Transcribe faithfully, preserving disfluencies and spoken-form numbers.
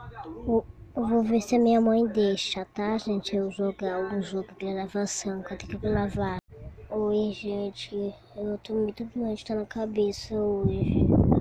Eu eu vou ver se a minha mãe deixa, tá, gente? Eu jogar um jogo de gravação que eu tenho que gravar. Oi, gente. Eu tô muito doente, tá na cabeça hoje.